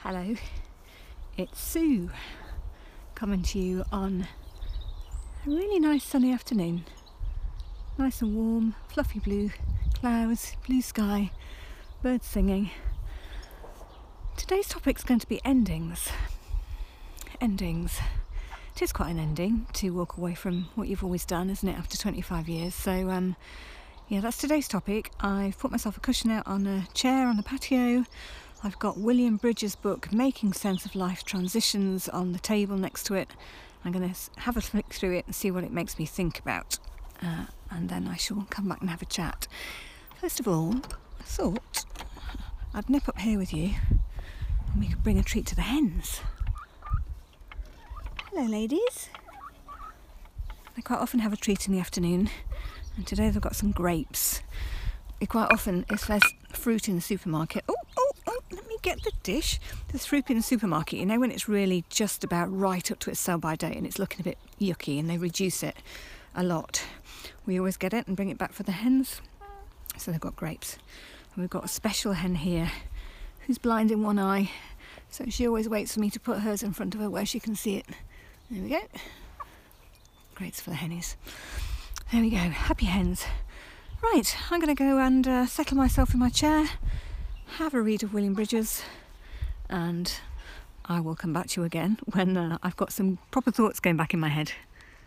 Hello, it's Sue coming to you on a really nice sunny afternoon. Nice and warm, fluffy blue clouds, blue sky, birds singing. Today's topic's going to be endings. Endings. It is quite an ending to walk away from what you've always done, isn't it, after 25 years? So, that's today's topic. I've put myself a cushion out on a chair on the patio. I've got William Bridges' book, Making Sense of Life Transitions, on the table next to it. I'm going to have a flick through it and see what it makes me think about. And then I shall come back and have a chat. First of all, I thought I'd nip up here with you and we could bring a treat to the hens. Hello, ladies. They quite often have a treat in the afternoon, and today they've got some grapes. Quite often, if there's fruit in the supermarket, let me get the dish. There's fruit in the supermarket, you know, when it's really just about right up to its sell-by date and it's looking a bit yucky and they reduce it a lot. We always get it and bring it back for the hens. So they've got grapes. And we've got a special hen here who's blind in one eye, so she always waits for me to put hers in front of her where she can see it. There we go. Grapes for the hennies. There we go. Happy hens. Right, I'm going to go and settle myself in my chair, have a read of William Bridges, and I will come back to you again when I've got some proper thoughts going back in my head.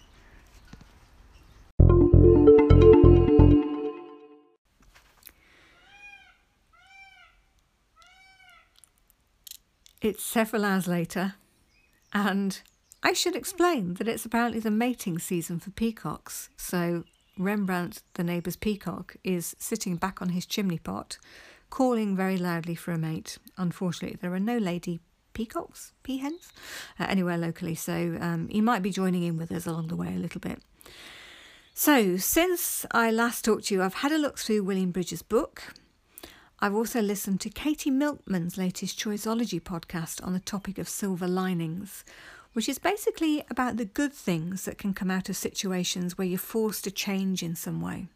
It's several hours later, and I should explain that it's apparently the mating season for peacocks, so Rembrandt, the neighbour's peacock, is sitting back on his chimney pot, calling very loudly for a mate. Unfortunately, there are no lady peacocks, peahens, anywhere locally, so he might be joining in with us along the way a little bit. So, since I last talked to you, I've had a look through William Bridges' book. I've also listened to Katie Milkman's latest Choiceology podcast on the topic of silver linings, which is basically about the good things that can come out of situations where you're forced to change in some way.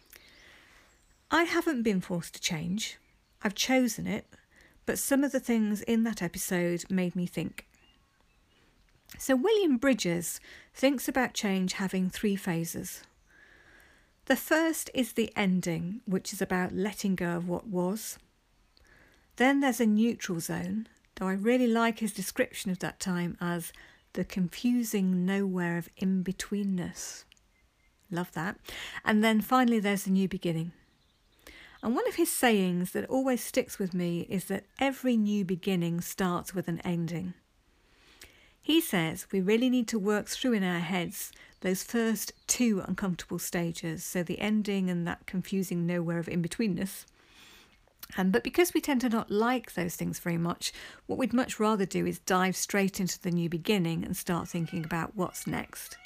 I haven't been forced to change. I've chosen it, but some of the things in that episode made me think. So William Bridges thinks about change having three phases. The first is the ending, which is about letting go of what was. Then there's a neutral zone, though I really like his description of that time as the confusing nowhere of in-betweenness. Love that. And then finally there's a new beginning. And one of his sayings that always sticks with me is that every new beginning starts with an ending. He says we really need to work through in our heads those first two uncomfortable stages, so the ending and that confusing nowhere of in-betweenness. But because we tend to not like those things very much, what we'd much rather do is dive straight into the new beginning and start thinking about what's next.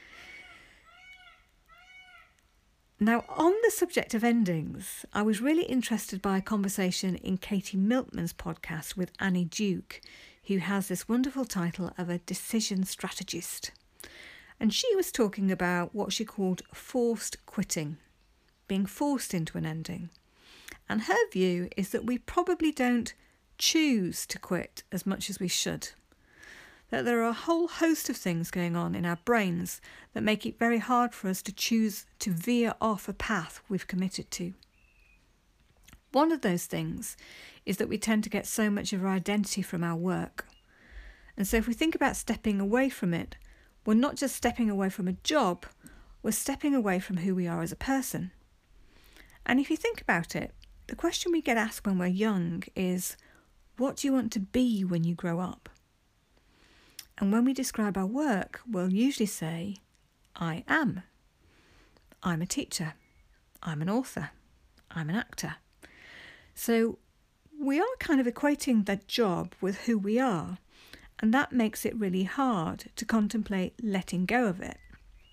Now, on the subject of endings, I was really interested by a conversation in Katie Milkman's podcast with Annie Duke, who has this wonderful title of a decision strategist. And she was talking about what she called forced quitting, being forced into an ending. And her view is that we probably don't choose to quit as much as we should. That there are a whole host of things going on in our brains that make it very hard for us to choose to veer off a path we've committed to. One of those things is that we tend to get so much of our identity from our work. And so if we think about stepping away from it, we're not just stepping away from a job, we're stepping away from who we are as a person. And if you think about it, the question we get asked when we're young is, what do you want to be when you grow up? And when we describe our work, we'll usually say, I am. I'm a teacher. I'm an author. I'm an actor. So we are kind of equating that job with who we are, and that makes it really hard to contemplate letting go of it.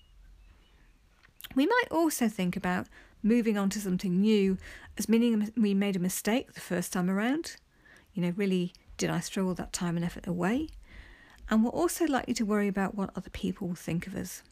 We might also think about moving on to something new as meaning we made a mistake the first time around. You know, really, did I throw all that time and effort away? And we're also likely to worry about what other people will think of us.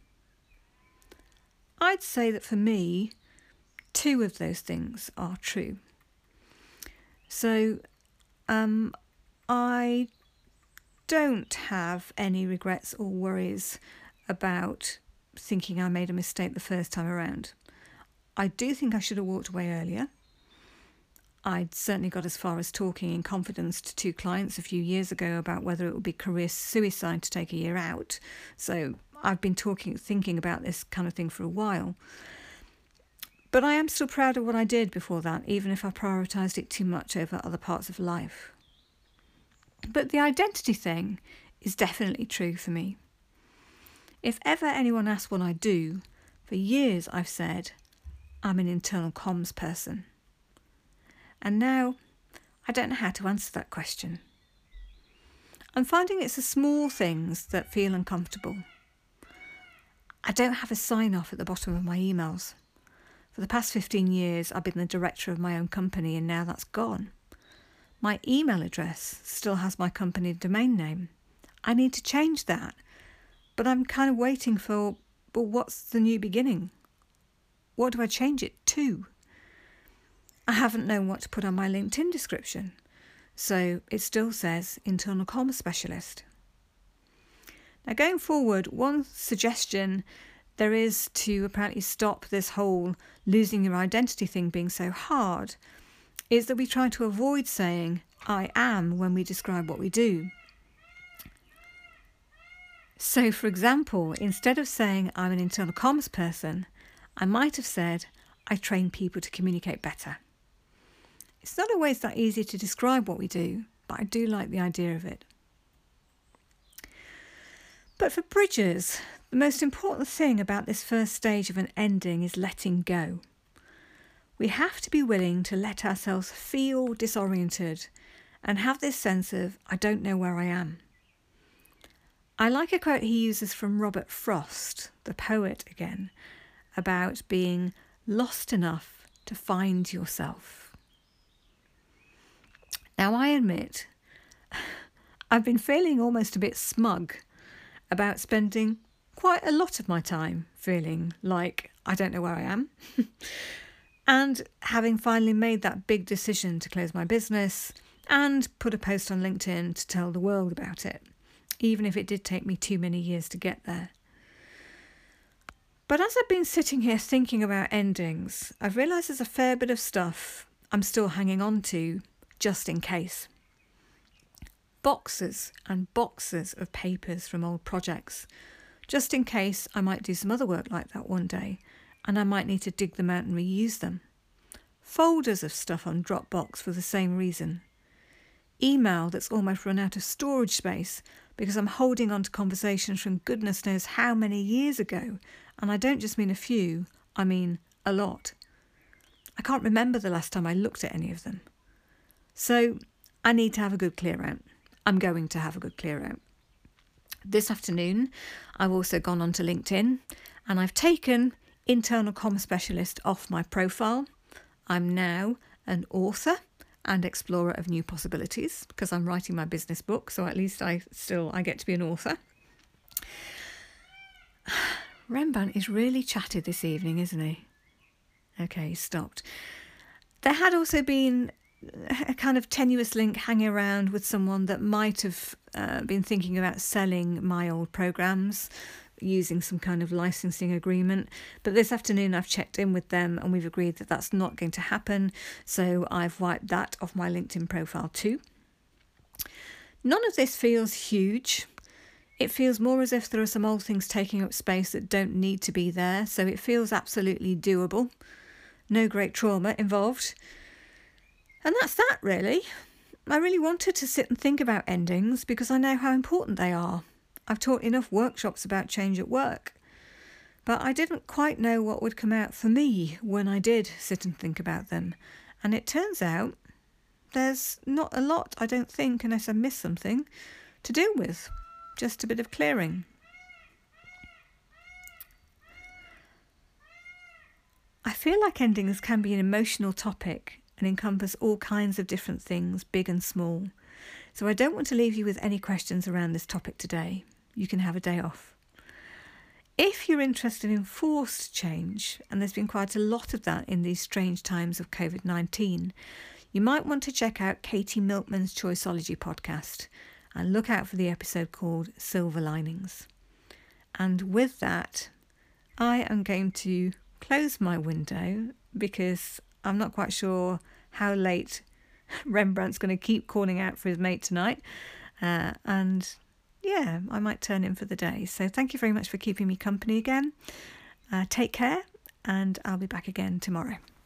I'd say that for me, two of those things are true. So I don't have any regrets or worries about thinking I made a mistake the first time around. I do think I should have walked away earlier. I'd certainly got as far as talking in confidence to 2 clients a few years ago about whether it would be career suicide to take a year out. So I've been thinking about this kind of thing for a while. But I am still proud of what I did before that, even if I prioritised it too much over other parts of life. But the identity thing is definitely true for me. If ever anyone asks what I do, for years I've said, I'm an internal comms person. And now I don't know how to answer that question. I'm finding it's the small things that feel uncomfortable. I don't have a sign-off at the bottom of my emails. For the past 15 years, I've been the director of my own company, and now that's gone. My email address still has my company domain name. I need to change that, but I'm kind of waiting for, well, what's the new beginning? What do I change it to? I haven't known what to put on my LinkedIn description, so it still says Internal Comms Specialist. Now, going forward, one suggestion there is to apparently stop this whole losing your identity thing being so hard is that we try to avoid saying I am when we describe what we do. So, for example, instead of saying I'm an internal comms person, I might have said I train people to communicate better. It's not always that easy to describe what we do, but I do like the idea of it. But for Bridgers, the most important thing about this first stage of an ending is letting go. We have to be willing to let ourselves feel disoriented and have this sense of, I don't know where I am. I like a quote he uses from Robert Frost, the poet again, about being lost enough to find yourself. Now, I admit, I've been feeling almost a bit smug about spending quite a lot of my time feeling like I don't know where I am. And having finally made that big decision to close my business and put a post on LinkedIn to tell the world about it, even if it did take me too many years to get there. But as I've been sitting here thinking about endings, I've realised there's a fair bit of stuff I'm still hanging on to just in case. Boxes and boxes of papers from old projects, just in case I might do some other work like that one day, and I might need to dig them out and reuse them. Folders of stuff on Dropbox for the same reason. Email that's almost run out of storage space because I'm holding on to conversations from goodness knows how many years ago, and I don't just mean a few, I mean a lot. I can't remember the last time I looked at any of them. So I need to have a good clear out. I'm going to have a good clear out. This afternoon, I've also gone onto LinkedIn and I've taken Internal Comms Specialist off my profile. I'm now an author and explorer of new possibilities because I'm writing my business book, so at least I get to be an author. Rembrandt is really chatty this evening, isn't he? Okay, he stopped. There had also been a kind of tenuous link hanging around with someone that might have been thinking about selling my old programs using some kind of licensing agreement. But this afternoon I've checked in with them and we've agreed that that's not going to happen. So I've wiped that off my LinkedIn profile too. None of this feels huge. It feels more as if there are some old things taking up space that don't need to be there. So it feels absolutely doable. No great trauma involved. And that's that, really. I really wanted to sit and think about endings because I know how important they are. I've taught enough workshops about change at work. But I didn't quite know what would come out for me when I did sit and think about them. And it turns out there's not a lot, I don't think, unless I miss something, to deal with. Just a bit of clearing. I feel like endings can be an emotional topic and encompass all kinds of different things, big and small. So I don't want to leave you with any questions around this topic today. You can have a day off. If you're interested in forced change, and there's been quite a lot of that in these strange times of COVID-19, you might want to check out Katie Milkman's Choiceology podcast and look out for the episode called Silver Linings. And with that, I am going to close my window because I'm not quite sure how late Rembrandt's going to keep calling out for his mate tonight. And yeah, I might turn in for the day. So thank you very much for keeping me company again. Take care, and I'll be back again tomorrow.